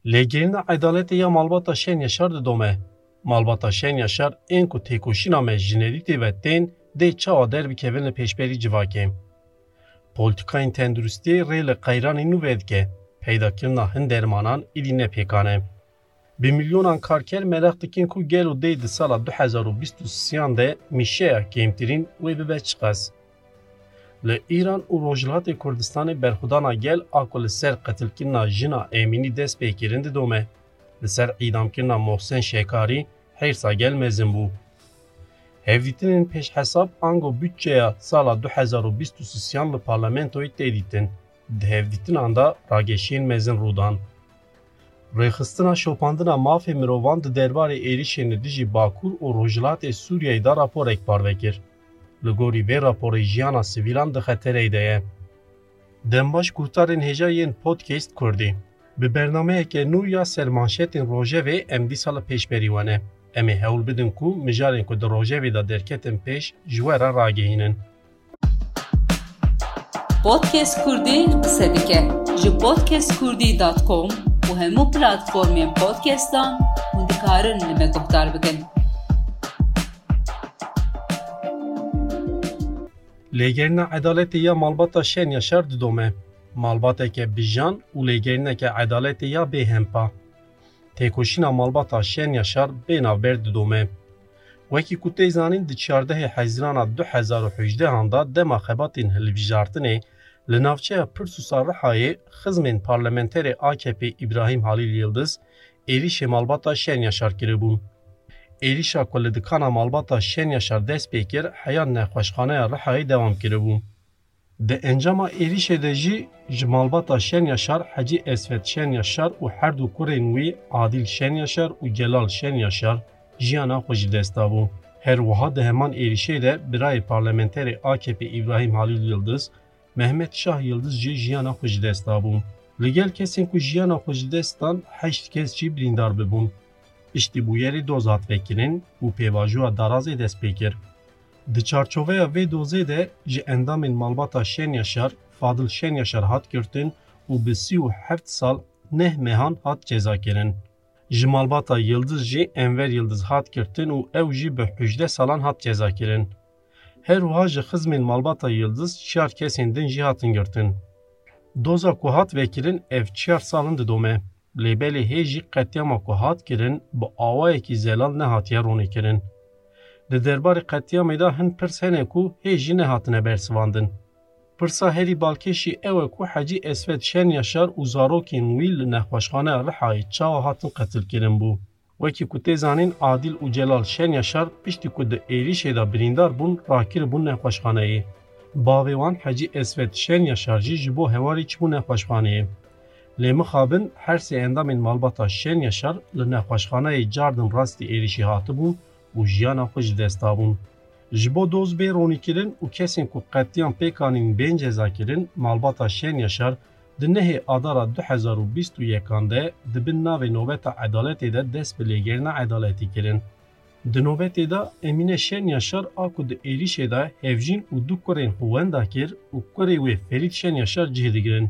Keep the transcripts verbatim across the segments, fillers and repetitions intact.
Lêgerîna edaleti ya malbata Şen Yaşar didome. Malbata Şen Yaşar ên ku têkoşîna me ji nedîtê ve tên dê çawa derbikevin li pêşberî civakê. Polîtikayên tenduristiyê rê li qeyranê nû vedike. Peydakirina hin dermanan îdî nepêkane. Bi milyonan karker merak dikin ku gel û dê di sala du hezar û bîst û sêyan de mîşeya kêmtirîn wê bibe çi qas. Li İran û Rojhilatê Kurdistanê berxwedana gel a ku li ser qetilkirina jina Emînî dest pê kirin didome. Li ser îdamkirina Mohsen Şekarî hêrsa gel mezin bû. Hevdîtinên pêşhesab ango bütçeya sala du hezar û bîst û sêyan li parlamentoyê tê dîtin. Di hevdîtinan da rageşiyên mezin rûdan. Rêxistina şopandina mafê mirovan di derbarê êrişên li dijî Bakur û Rojhilatê Sûriyeyê da raporek parvekir. Li gorî vê raporê jiyana sivîlan di xeterê de ye. Dembaş guhtarên hêja yên podcast Kurdî. Bi bernameyeke nû ya sermanşetên Rojevê em dîsa li pêşberî wane. Em ê hewl bidin ku mijarên ku di Rojevê da derketin pêş ji we re ragihînin. Podcast Kurdî qise dike ji podcast kurdî dot com û hemû platformên podcastan hûn dikarin li me guhdar bikin. Lêgerîna edaletê ya malbata Şen Yaşar didome. Malbateke bijan û lêgerîneke edaletê ya bêhempa. Têkoşîna malbata Şen Yaşar bênavber didome. Wekî ku tê zanîn di çardehê Hezîrana du hezar û hejdehan da dema xebatên hilbijartinê li navçeya Pirsûsa Rihayê xizmên parlamenterê A K P İbrahim Halil Yıldız êrişê malbata Şen Yaşar kiribûn. Êrişa ku li dikana malbata Şen Yaşar dest pê kir heya nexweşxaneya Rihayê dewam kiribû. Di encama êrişê de jî ji malbata Şen Yaşar Hecî Esvet Şen Yaşar û her du kurên wî Adil Şen Yaşar û Celal Şen Yaşar jiyana xwe ji dest dabû. Her wiha di heman êrişê de birayê parlamenterê A K P İbrahim Halil Yıldız, Mehmet Şah Yıldız jî jiyana xwe ji dest dabû. Li gel kesên ku jiyana xwe ji dest dan heşt kes jî birîndar bibûn. Piştî bûyerê doz hat vekirin û pêvajoya darazê dest pê kir. Di çarçoveya vê dozê de ji endamên malbata Şen Yaşar, Fadil Şen Yaşar hat girtin û bi sî û heft sal neh mehan hat cezakirin. Ji malbata Yıldız jî Enver Yıldız hat girtin û ew jî bi hejde salan hat cezakirin. Her wiha ji xizmên malbata Yıldız çar kesên din jî hatin girtin. Doza ku hat vekirin ev çar salin didome. Lêbelê hê jî qetiyama ku hat kirin bi awayekî zelal nehatiye ronîkirin. Di derbarê qetiyamê da hin pirs hene ku hê jî nehatine bersivandin. Pirsa herî balkêşî ew e ku Hecî Esvet Şen Yaşar û zarokên wî li nexweşxaneya Rihayê çawa hatin qetilkirin bû. Wekî ku tê zanîn Adil û Celal Şen Yaşar piştî ku di êrişê da birîndar bûn rakiribûn nexweşxaneyê. Bavê wan Hecî Esvet Şen Yaşar jî ji bo hewarî çibû nexweşxaneyê. Lê mixabin her sê endamên malbata Şen Yaşar li nexweşxaneyê cardin rastî êrişî hatibûn û jiyana xwe ji dest dabûn. Ji bo doz bê ronîkirin û kesên ku qetiyan pêkanîn bên cezakirin malbata Şen Yaşar di nehê adara du hezar û bîst û yekan de dibin navê nobeta edaletê de dest bi lêgerîna edaletî kirin. Di nobetê da Emîne Şen Yaşar a ku di êrişê da hevjîn û du kurên xwe wenda kir û kurê wê Ferîd Şen Yaşar cih digirin.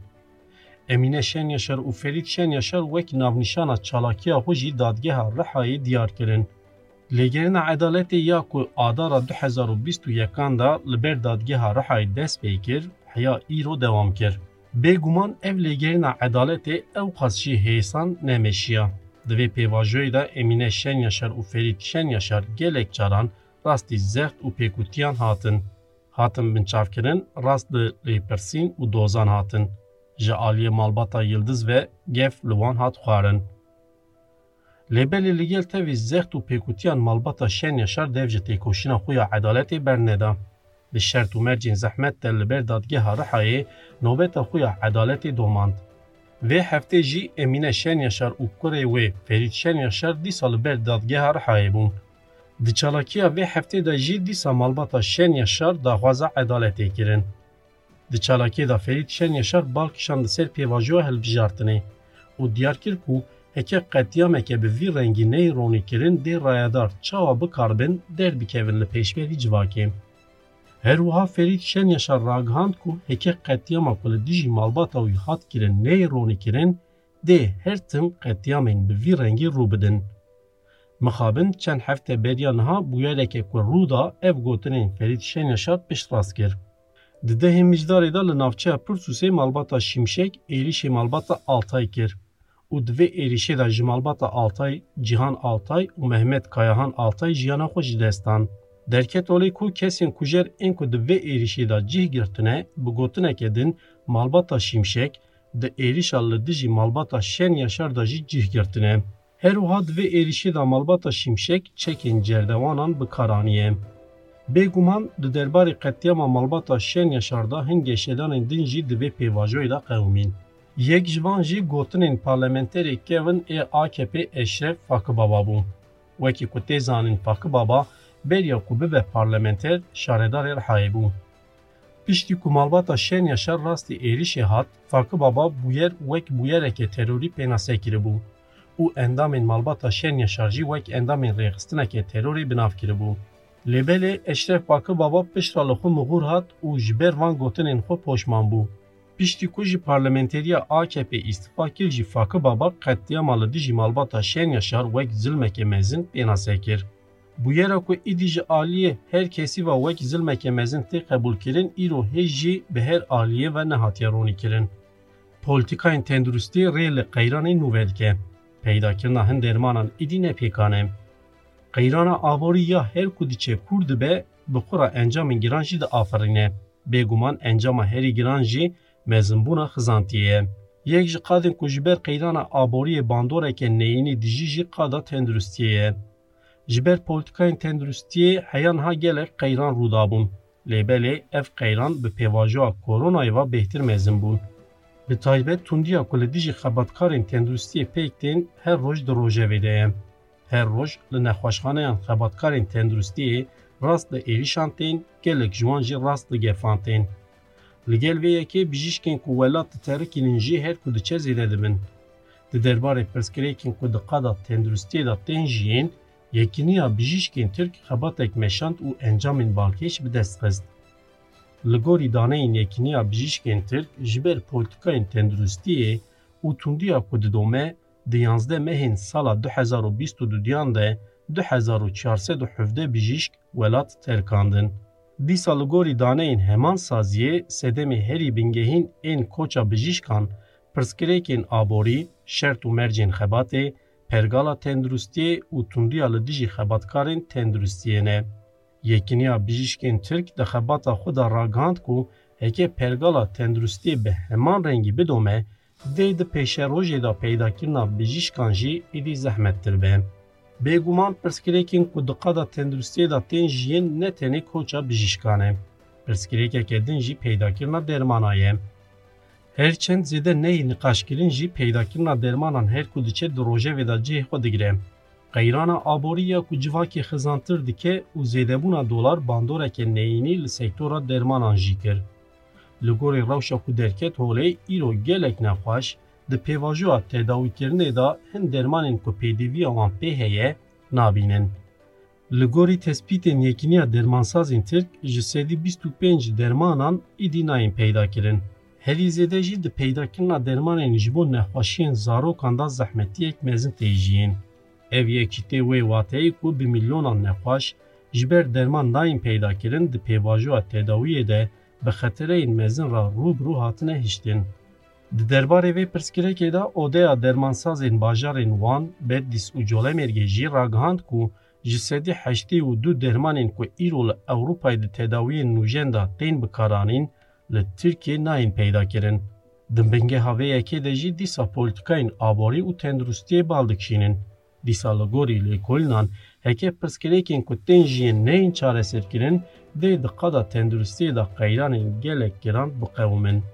Emîne Şen Yaşar û Ferîd Şen Yaşar wek navnîşana çalakiya xwe jî dadgeha Rihayê diyar kirin. Lêgerîna edaletê ya ku adara du hezar û bîst û yekan da li ber dadgeha Rihayê dest pê kir, heya îro dewam kir. Bêguman ev lêgerîna edaletê ew qas jî hêsan nemeşiya. Di vê pêvajoyê de Emîne Şen Yaşar û Ferîd Şen Yaşar gelek caran rastî zext û pêkutiyan hatin. Hatin binçavkirin rast li lêpirsîn û dozan hatin. Ji aliyê malbata Yıldız ve gef li wan hat xwarin. Lêbelê li gel tevî zext û pêkutiyan malbata Şen Yaşar dev ji têkoşîna xwe ya edaletê berneda. Bi şert û mercên zehmet de li ber dadgeha Rihayê nobeta xwe ya edaletê domand. Vê heftê jî Emîne Şen Yaşar û kurê wê Ferîd Şen Yaşar dîsa li ber dadgeha Rihayê bûn. Di çalakiya vê heftê de jî dîsa malbata Şen Yaşar daxwaza edaletê kirin. Di çalakê da Ferîd Şen Yaşar balkişan li ser pêvajoya hilbijartinê û diyar kir ku heke qetiyameke bi vî rengî neyê ronîkirin dê rayadar çawa bikarbin derbikevin li pêşberî civakê. Her wiha Ferîd Şen Yaşar ragihand ku heke qetiyama ku li dijî malbata wî hat kirin neyê ronîkirin dê her tim qetiyamên bi vî rengî rû bidin. Mixabin çend hefte beriya niha bûyereke ku rû da ev gotinên Ferîd Şenyaşar piştrast kir. Di dehê mijdarê da li navçeya Pirsûsê malbata Şimşek êrişê malbata Altay kir û di vê êrişê de ji malbata Altay, Cîhan Altay û Mehmet Kayahan Altay jiyana xwe ji dest dan. Derket olê ku kesên kujer ên ku di vê êrişê de cih girtine bi gotineke din malbata Şimşek, di êrişa li dijî malbata Şenyaşar da jî cih girtine. Her wiha di vê êrişê de malbata Şimşek çekên cerdewanan bikaraniye. Bêguman di derbarê qetiyama malbata Şenyaşar da hin geşedanên din jî di vê pêvajoyê de qewimîn. Yek ji van jî gotinên parlamenterê kevin ê A K P Eşref Fakıbaba bû. Wekî ku tê zanin Fakıbaba beriya ku bibe parlamenter şaredarê Rihayê bû. Piştî ku malbata Şenyaşar rastî êrişê hat, Fakıbaba bûyer wek bûyereke terorî pênasê kiribû û endamên malbata Şenyaşar jî wek endamên rêxistineke terorî binav kiribû. Lêbelê Eşref Fakıbaba piştra li xwe mixûr hat û ji ber van gotinên xwe poşman bû. Piştî ku jî parlamenteriya A K P îstifa kir jî Fakıbaba qetiyama li dijî malbata Şenyaşar wek zilmeke mezin pênasê kir. Bûyera ku îdî ji aliyê her kesî ve wek zilmeke mezin tê qebûl kirin, îro hêj jî bi her aliyê ve nehatiye ronî kirin. Polîtikayên tenduristiyê rê li qeyranê nû vedike. Peydakirina hin dermanan îdî nepêkane. Qeyrana aborî ya her ku diçe kûr dibe, bi xura encamên giran jî diafirîne. Bêguman encama herî giran jî mezinbûna xizantiyê ye. Yek ji qadên ku ji ber qeyrana aboriyê bandoreke neyînî dijî jî qada tenduristiyê ye. Ji ber polîtikayên tenduristiyê heya niha gelek qeyran rûdabûn. Lêbelê ev qeyran bi pêvajoya koronayê ve bêhtir mezin bûn. Bi taybet tundiya ku li dijî xebatkarên tenduristiyê pêk tên her roj di rojevê de ye. Her roj li nexweşxaneyan xebatkarên tenduristiyê rast li êrişan tên, gelek ji wan jî rast li gefan tên. Li gel vê yekê bijîşkên ku welat diterikînin jî her ku diçe zêde dibin. Di derbarê pirsgirêkên ku di qada tenduristiyê de tên jiyên, yekîniya bijîşkên Tirk xebatek meşand û encamên balkêş bi dest xist. Li gorî daneyên yekîniya bijîşkên Tirk ji ber polîtikayên tenduristiyê û tundiya ku didome di yanzdeh mehên sala du hezar û bîst û duyan de du hezar û çar sed û hevdeh bijîşk welat terkandin. Dîsa li gorî daneyên heman saziyê sedemê herî bingehîn ên koça bijîşkan, pirsgirêkên aborî, şert û mercên xebatê, pergala tenduristiyê û tundiya li dijî xebatkarên tenduristiyê ne. Yekîniya bijîşkên Tirk di xebata xwe de ragihand ku heke pergala tenduristiyê bi heman rengî bidome, dê di pêşerojê de peydakirina bijîşkan jî êdî zehmettir be. Bêguman pirsgirêkên ku di qada tenduristiyê de tên jiyên ne tenê koça bijîşkan e. Pirsgirêkeke din jî peydakirina dermana ye. Herçend zêde neyê niqaşkirin jî peydakirina dermanan her ku diçe di rojevê de cihê xwe digire. Qeyrana aborî ya ku civakê xizantir dike û zêdebûna dolar bandoreke neyînî li sektora dermanan jî kir. Li gorî rewşa ku derket holê îro gelek nexweş, di pêvajoya tedawîkirinê de hin dermanên ku pêdiviya wan pê heye nabînin. Li gorî tespîtên yekîniya dermansazên Tirk ji sedî bîst û pênc dermanan îdî nayên peydakirin. Herî zêde jî di peydakirina dermanên ji bo nexweşiyên zarokan da zehmetiyek mezin tê jiyîn. Ev yekî tê wê wateyê ku bi milyonan nexweş ji ber derman nayên peydakirin di pêvajoya tedawiyê de bi xetereyên mezin re rûbirû hatine hiştin. Di derbarê vê pirsgirêkê de odeya dermansazên bajarên Wan, Bedlîs û Colemêrgê jî ragihand ku ji sedî heştê û du dermanên ku îro li Ewropayê di tedawiyên nûjen de tên bikaranîn, li Tirkiyê nayên peydakirin. Di bingeha vê yekê de jî dîsa polîtikayên aborî û tenduristiyê bal dikişînin. Dîsa li gorî lêkolînan heke pirsgirêkên ku tên jiyên neyên çareserkirin, dê di qada tenduristiyê de qeyranên gelek giran biqewimin.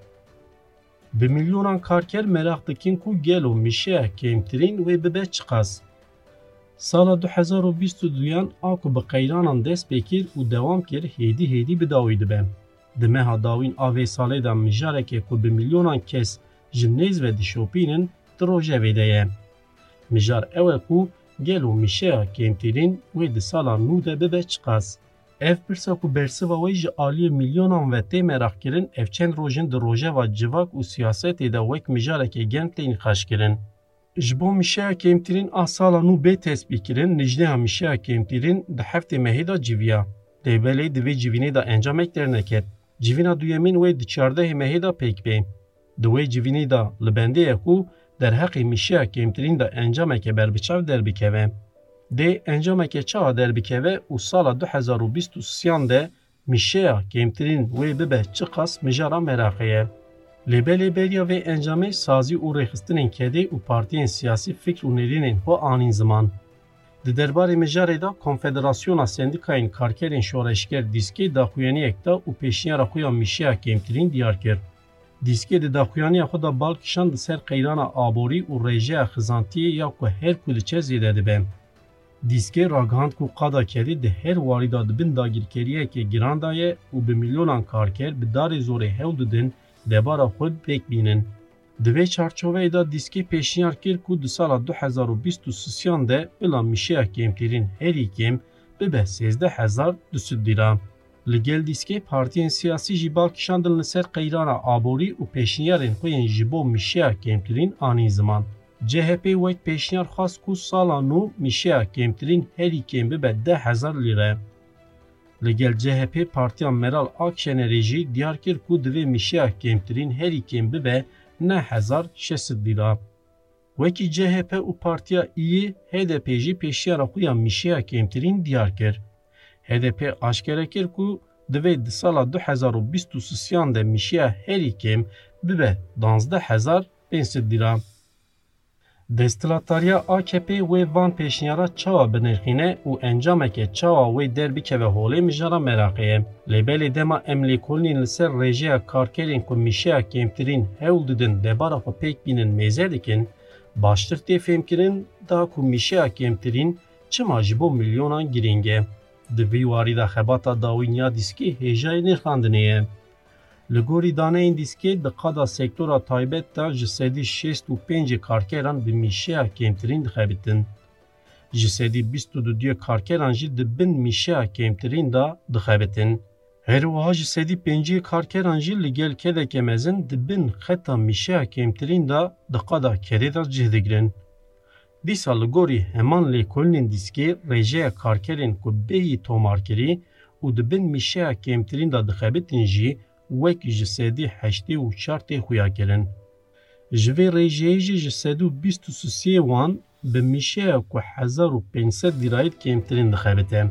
Bi milyonan karker merak dikin ku gelo mişeya kêmtirîn wê bibe çi qas. Sala du hezar û bîst û duyan a ku bi qeyranan dest pê kir û dewam kir hêdî hêdî bi dawî dibe. Di meha dawîn a vê salê de mijareke ku bi milyonan kes ji nêz ve dişopînin di rojevê de ye. Mijar ew e ku gelo mişeya kêmtirîn wê di sala nû de bibe çi qas. Ev pirsa ku bersiva wê ji aliyê milyonan ve tê merak kirin, ev çend rojin di rojeva civak û siyasetê de wek mijarekê germ tên xweş kirin. Ji bo mişeya kêmtirîn a sala nû bê tespît kirin, nijdeya mişeya kêmtirîn di heftê mehê da civiya. Lêbelê di vê civînê da encamek derneket. Civîna duyemîn wê di çardehê mehê da pêk bê. Di wê civînê da li bendê ku derheqê mişeya kêmtirîn da encameke berbiçav derbikeve. Dê encameke çawa derbikeve û sala du hezar û bîst û sêyan de mişeya kêmtirîn wê bibe çi qas mijara meraqê ye. Lêbelê beriya vê encamê sazî û rêxistinên kedê û partiyên siyasî fikr û nêrînên xwe anîn ziman. Di derbarê mijarê da Konfederasyona Sendikayên Karkerên Şoreşger dîskê daxuyaniyek da û pêşniyara xwe ya mişeya kêmtirîn diyar kir. Dîskê di daxuyaniya xwe da bal kişand di ser qeyrana aborî û rêjeya xizantiyê ya ku her ku li çe zêde dibe. Dîskê ragihand ku qada kedê di her warî da dibin dagirkeriyekê giran da ye û bi milyonan karker bi darê zorê hewl didin debara xwe pêk bînin. Di vê çarçoveyê da dîskê pêşniyar kir ku di sala du hezar û bîst û sêyan de bila mişeya kêmtirîn herî kêm bibe sêzdeh hezar du sed lîra. Li gel dîskê partiyên siyasî jî bal kişandin li ser qeyrana aborî û pêşniyarên xwe yên ji bo mişeya kêmtirîn anîn ziman. C H P wek pêşniyar xwast ku sala nû mişeya kêmtirîn herî kêm bibe deh hezar lîre. Li gel C H P partiya Meral Akşenerê jî diyar kir ku divê mişeya kêmtirîn herî kêm bibe neh hezar şeş sed lîra. Wekî C H P û partiya İYİ H D P jî pêşniyara xwe ya mişeya kêmtirîn diyar kir. H D P aşkere kir ku divê di sala du hezar û bîst û sêyan de mişeya herî kêm bibe danzdeh hezar pênc sed lîra. Desthilatariya A K P wê van pêşniyara çawa binirxîne û encameke çawa wê derbikeve holê mijara meraqê ye. Lêbelê dema em lêkolînên li ser rêjeya karkerên ku mişeya kêmtirîn hewl didin debara xwe pêk bînin mêze dikin, baştir tê fêmkirin da ku mişeya kêmtirîn çima ji bo milyonan girîng e. Di vî warî da xebata dawîniya dîskê hêjayê nirxandinê ye. Li gorî daneyên dîskê di qada sektora taybet da ji sedî şêst û pêncê karkeran bi mişeya kêmtirîn dixebitin. Ji sedî bîst û duyê karkeran jî di bin mişeya kêmtirîn da dixebitin. Herwiha ji sedî pêncî karkeran jî li gel kedeke mezin di bin xeta mişeya kêmtirîn da di qada kedê da cih digirin. Dîsa li gorî heman lêkolînên dîskê rêjeya karkerên ku bêyî tomarkirî û di bin mişeya kêmtirîn da dixebitin jî wek ji sedî heştê û çar tê xuya kirin. Ji vê rêjeyê jî ji sed û bîst û sê wan bi mişeya ku hezar û pênc sed lîrayê kêmtirîn dixebite.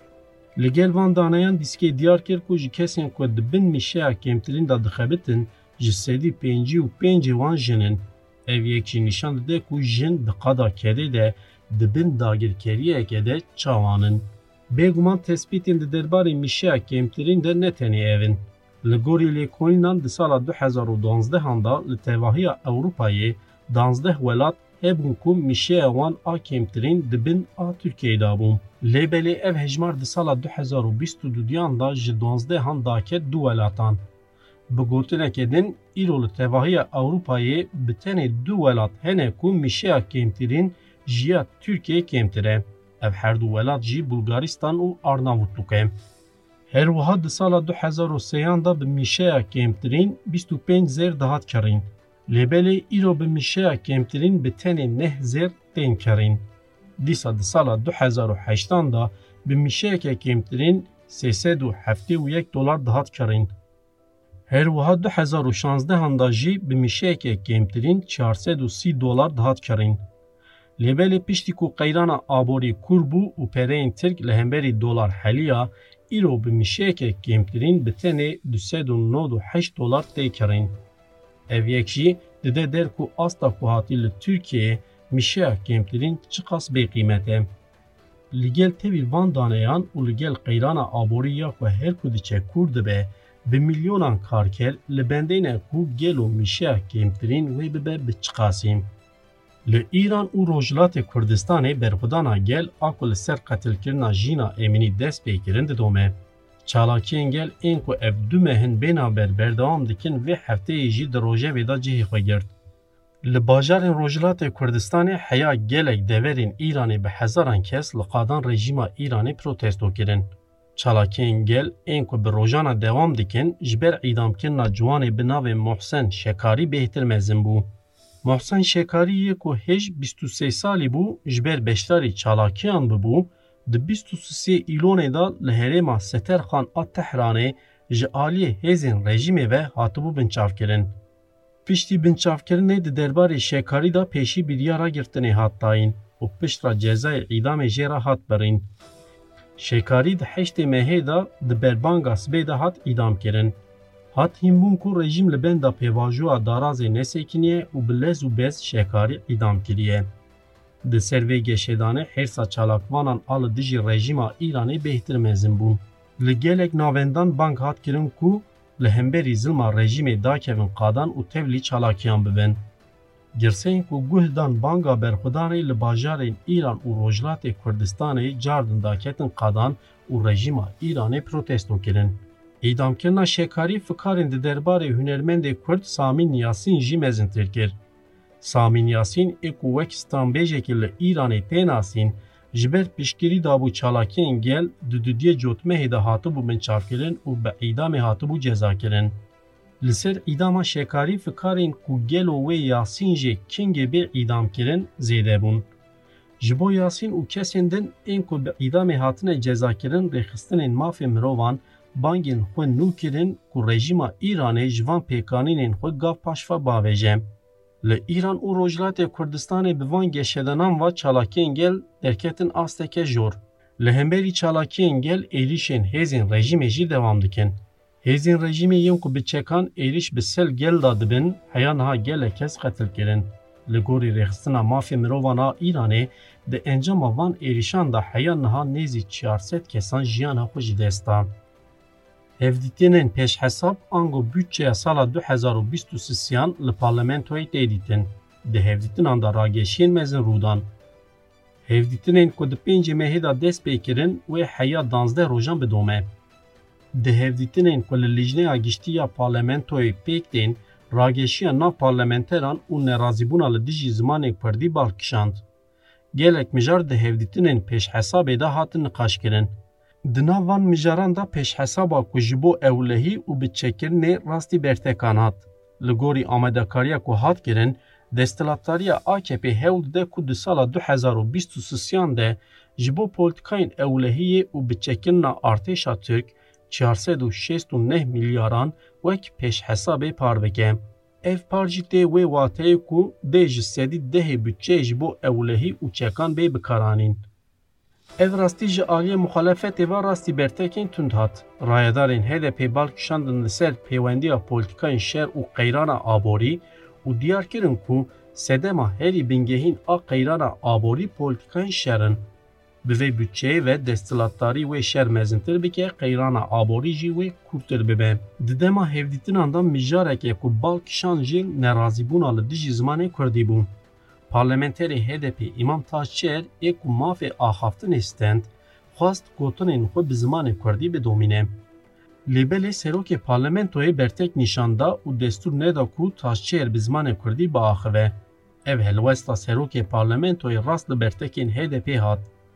Li gel van daneyan dîskê diyar kir ku ji kesên ku di bin mişeya kêmtirîn da dixebitin ji sedî pêncî û pêncê wan jin in. Ev yek jî nîşan dide ku jin di qada kedê de di bin dagirkeriyeke de çawanin. Bêguman tespîtên di derbarê mişeya kêmtirîn de ne tenê ev in. Li gorî lêkolînan di sala du hezar û donzdehan da li tevahiya Ewropayê danzdeh welat hebûn ku mişeya wan a kêmtirîn dibin a Tirkiyeyê da bûn. Lêbelê ev hejmar di sala du hezar û bîst û duyan da ji donzdehan daket du welatan. Bi gotinekê din îro li tevahiya Ewropayê bi tenê du welat hene ku mişeya kêmtirîn jiya Tirkiyeyê kêmtir e. Ev her du welat jî Bulgaristan û Arnavutluk e. Herwiha di sala du hezar û sêyan da bi mişeya kêmtirîn bîst û pênc zêr dihat kirîn. Lêbelê îro bi mişeya kêmtirîn bi tenê neh zêr tên kirîn. Dîsa di sala du hezar û heştan da bi mişeyeke kêmtirîn sê sed û heftê û yek dolar dihat kirîn. Herwiha du hezar û şanzdehan da jî bi mişeyeke kêmtirîn çar sed û sî dolar dihat kirîn. Lêbelê piştî ku qeyrana aborî kûr bû û pereyên Tirk li hemberî dolar heliya, îro bi mişeyeke kêmtirîn bi tenê du sed û nod û heşt dolar tê kirîn. Ev yek jî dide der ku asta ku hatî li Tirkiyeyê mişeya kêmtirîn çi qas bêqîmet e. Li gel tevî van daneyan û li gel qeyrana aborî ya ku her ku diçe kûr dibe, bi milyonan karker li bendêne ku gelo mişeya kêmtirîn wê bibe bi çi qasî. Li İran û Rojhilatê Kurdistanê berxwedana gel a ku li ser qetilkirina jîna Emînî dest pê kirin didome. Çalakiyên gel ên ku ev du mehin bênaber berdewam dikin vê hefteyê jî di rojevê da cihê xwe girt. Li bajarên Rojhilatê Kurdistanê heya gelek deverên İranê bi hezaran kes li qadan rejîma İranê protesto kirin. Çalakiyên gel ên ku bi rojana dewam dikin ji ber îdamkirina ciwanê bi navê Mohsen Şekarî bêhtir mezin bû. Mohsen Şekarî yê ku hêj bîst û sê salî bû ji ber beşdarî çalakiyan bibû, di bîst û sê îlonê da li herêma Seterxan a Tehranê ji aliyê hêzên rejîmê ve hatibû binçavkirin. Piştî binçavkirinê di derbarê Şekarî da pêşî biryara girtinê hat dayîn û piştra cezayê îdamê jê re hat birîn. Şekarî di heştê mehê da di berbanga sibê de hat îdamkirin. Hat hînbûn ku rejîm li benda pêvajoya darazê nesekiniye û bi lez û bez Şekarî îdam kiriye. Di ser vê geşêdanê hêrsa çalakvanan a li dijî rejîma Îranê bêhtir mezin bûn. Li gelek navendan bang hat kirin ku li hemberî zilma rejîmê dakevin qadan û tevlî çalakiyan bibin. Girseyên ku guh dan banga berxwedanê li bajarên Îran û Rojhilatê Kurdistanê cardin daketin qadan û rejîma Îranê protesto kirin. Îdamkirina Şekarî fikarên di derbarê hunermendê Kurd Samîn Yasîn jî mezintir kir. Samîn Yasîn ê ku wek stranbêjekî li Îranê tênasîn, ji ber piştgirî dabû çalakiyên gel di dudiyê cotmehê de hatibû binçavkirin û bi îdamê hatibû cezakirin. Li ser îdama Şekarî fikarên ku gelo wê Yasîn jê kengê bê îdamkirin zêde bûn. Ji bo Yasîn û kesên din ên ku bi îdamê hatine cezakirin rêxistinên mafê mirovan bangên xwe nû kirin ku rejîma Îranê ji van pêkanînên xwe gav paşva bavêje. Li Îran û Rojhilatê Kurdistanê bi van geşedanan va çalakiyên gel derketin asteke jor. Li hemberî çalakiyên gel êrişên hêzên rejîmê jî dewam dikin. Hêzên rejîmê yên ku bi çekan êriş bi sel gel da dibin, heya niha gelek kes qetil kirin. Li gorî rêxistina mafê mirovan a Îranê di encama van êrişan da heya niha nêzî çar sed kesan jiyana xwe ji dest dan. Hevdîtinên pêşhesab ango bütçeya sala du hezar û bîst û sêyan li parlamentoyê tê dîtin. Di hevdîtinan da rageşiyên mezin rûdan. Hevdîtinên ku di pêncê mehê da dest pê kirin wê heya danzdeh rojan bidome. Di hevdîtinên ku li lijneya giştî ya parlamentoyê pêk tên, rageşiya nav parlamenteran û nerazîbûna li dijî zimanê Kurdî balkişand. Gelek mijar di hevdîtinên pêşhesabê de hatin niqaşkirin. Di nav van mijaran da pêşhesaba ku ji bo ewlehî û bi çêkirinê rastî bertekan hat. Li gorî amedekariya ku hat kirin, desthilatdariya A K P hewl dide ku di sala du hezar û bîst û sêyan de ji bo polîtikayên ewlehiyê û bi çêkirina artêşa Türk çar sed û şêst û neh milyaran wek pêşhesabê par bike. Ev par jî tê wê wateyê ku dê ji sedî dehê bütçeyê ji bo ewlehî û çekan bê bikaranîn. Ev rastî ji aliyê muxalefetê ve rastî bertekên tund hat. Rayedarên H D P balkişandin li ser pêwendiya polîtikayên şer û qeyrana aborî û diyar kirin ku sedema herî bingehîn a qeyrana aborî polîtikayên şerin. Bi vê bütçeyê ve desthilatdarî wê şer mezintir bike, qeyrana aborî jî wê kûrtir bibe. Di dema hevdîtinan da mijareke ku balkişan jî nerazîbûna li dijî zimanê Kurdî bû. Parlamenterê H D P İmam Taşçıer ê ku mafê axaftinê stend, xwast gotinên xwe bi zimanê Kurdî bidomîne. Lêbelê serokê parlamentoyê bertek nîşanda û destûr neda ku Taşçıer bi zimanê Kurdî biaxive. Ev helwesta serokê parlamentoyê rast li bertekên H D P hat.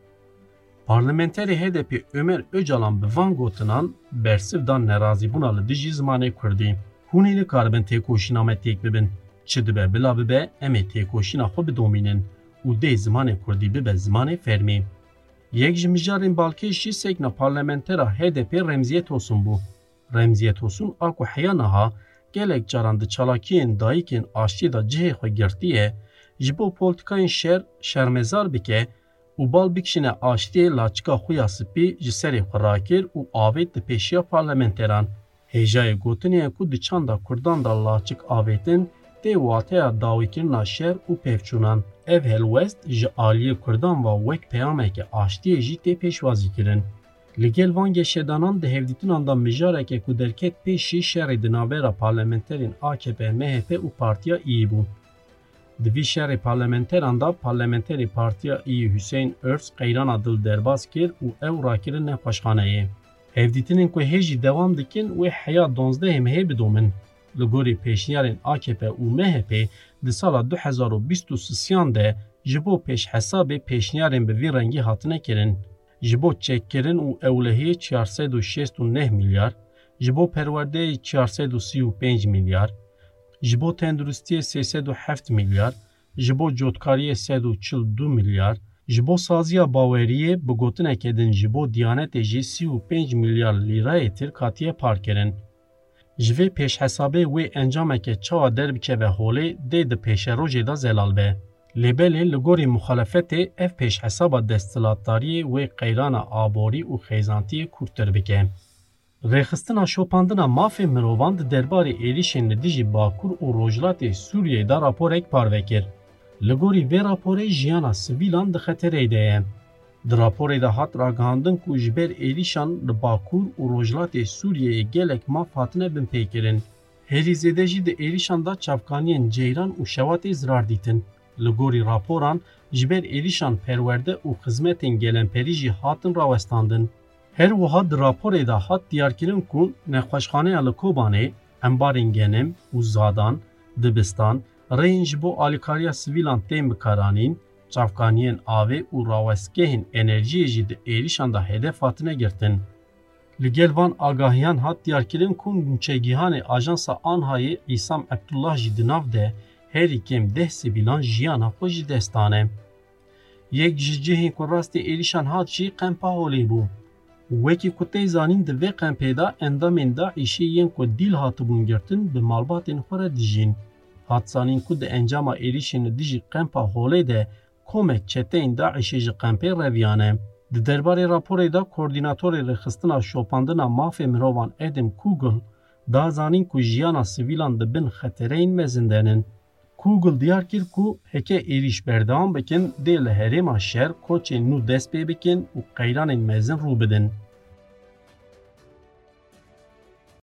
Parlamenterê H D P Ömer Öcalan bi van gotinan bersiv dan nerazîbûna li dijî zimanê Kurdî. Hûn ê nikaribin têkoşîna me têk bibin. Çi dibe bila bibe em ê têkoşîna xwe bidomînin û dê zimanê Kurdî bibe zimanê fermî. Yek ji mijarên balkê jî sekna parlamentera H D P Remziye Tosun bû. Remziye Tosun a ku heya niha gelek caran di çalakiyên dayîkên aştî da cihê xwe girtiye, ji bo polîtikayên şer şermezar bike û bal bikişine aştiyê laçika xwe ya spî ji serê xwe rakir û avêt di pêşiya parlamenteran. Hêjayê gotinê ku di çanda Kurdan da laçik avêtin tê wateya dawîkirina şer û pevçûnan. Ev helwest ji aliyê Kurdan ve wek peyameke aştiyê jî tê pêşwazî kirin. Li gel van geşedanan di hevdîtinan da mijareke ku derket pêşî şerê di navbera parlamenterên A K P, M H P û Partiya İYİ bû. Di vî şerê parlamenteran da parlamenterê Partiya İYİ Hüseyin Örs qeyrana dil derbas kir û ew rakirin nexweşxaneyê. Hevdîtinên ku hêjî dewam dikin wê heya donzdehê mehê bidomin. Li gorî pêşniyarên A K P û M H P di sala du hezar û bîst û sêyan de ji bo pêşhesabê pêşniyarên bi vî rengî hatine kirin. ji bo çekkirin û ewlehiyê çar sed û şêst û neh milyar, ji bo perwerdeyê çar sed û sî û pênc milyar, ji bo tenduristiyê sê sed û heft milyar, ji bo cotkariyê sed û çil du milyar, ji bo saziya baweriyê bi gotinekê din ji bo Diyanetê jî sî û pênc milyar lîrayê tir hatiye parkirin. Ji vê pêşhesabê wê encameke çawa derbikeve holê dê di pêşerojê da zelal be. Lêbelê li gorî muxalefetê ev pêşhesaba desthilatdariyê wê qeyrana aborî û xêzantiyê kûrtir bike. Rêxistina şopandina mafê mirovan di derbarê êrişên li dijî Bakur û Rojhilatê Sûriyeyê da raporek parve kir. Li gorî vê raporê jiyana sivîlan di xeterê de ye. Di raporê de hat ragihandin ku ji ber êrişan li Bakur û Rojhilatê Sûriyeyê gelek maf hatine bin pêkirin. Herî zêde jî di êrişan da çavkaniyên Ceyran û Şewatê zirar dîtin. Li gorî raporan ji ber êrişan perwerde û xizmetên gelemperî jî hatin rawestandin. Her wiha di raporê de hat diyarkirin ku nexweşxaneya li Kobanê, embarên genim û zadan, dibistan, reyên ji bo alîkariya sivîlan tên bikaranîn, çavkaniyên avê û rawestgehên enerjiyê jî di êrişan da hedef hatine girtin. Li gel van agahiyan hat diyarkirin ku nûçegihanê Ajansa Anhayê İsam Ebdullah jî di nav de herî kêm deh sivîlan jiyana xwe jî destane. Yek ji cihên ku rastî êrişan hat jî qempa holê bû. Wekî ku tê zanîn di vê qempê da endamên Daişê yên ku dîl hatibûn girtin bi malbatên xwe re dijîn. Hat zanîn ku di encama êrişên li dijî qempa holê de komek çeteyên Daişê ji qempê reviyane. Di derbarê raporê da koordînatorê rêxistina şopandina mafê mirovan Adam Kugel da zanîn ku jiyana sivîlan di bin xetereyên mezin denin. Kugel diyar kir ku heke êriş berdewam bikin dê li herêma şer koçên nû dest pê bikin û qeyranên mezin rû bidin.